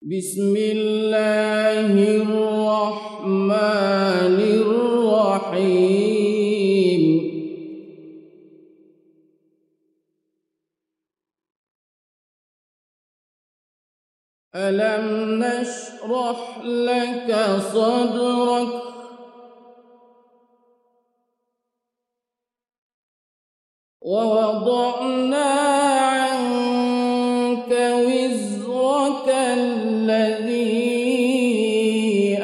بسم الله الرحمن الرحيم. ألم نشرح لك صدرك ووضعنا عنك وزرك الذي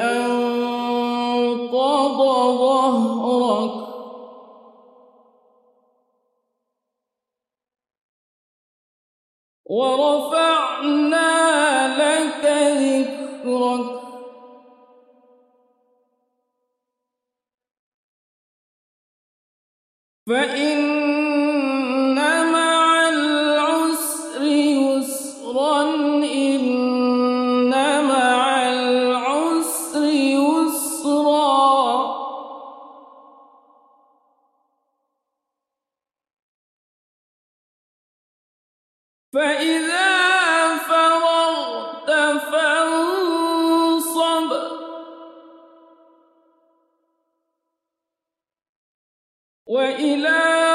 أنقض ظهرك ورفعنا لك ذكرك فإن مع العسر يسرا إن مع العسر يسرا فإذا فرغت فانصب وإلى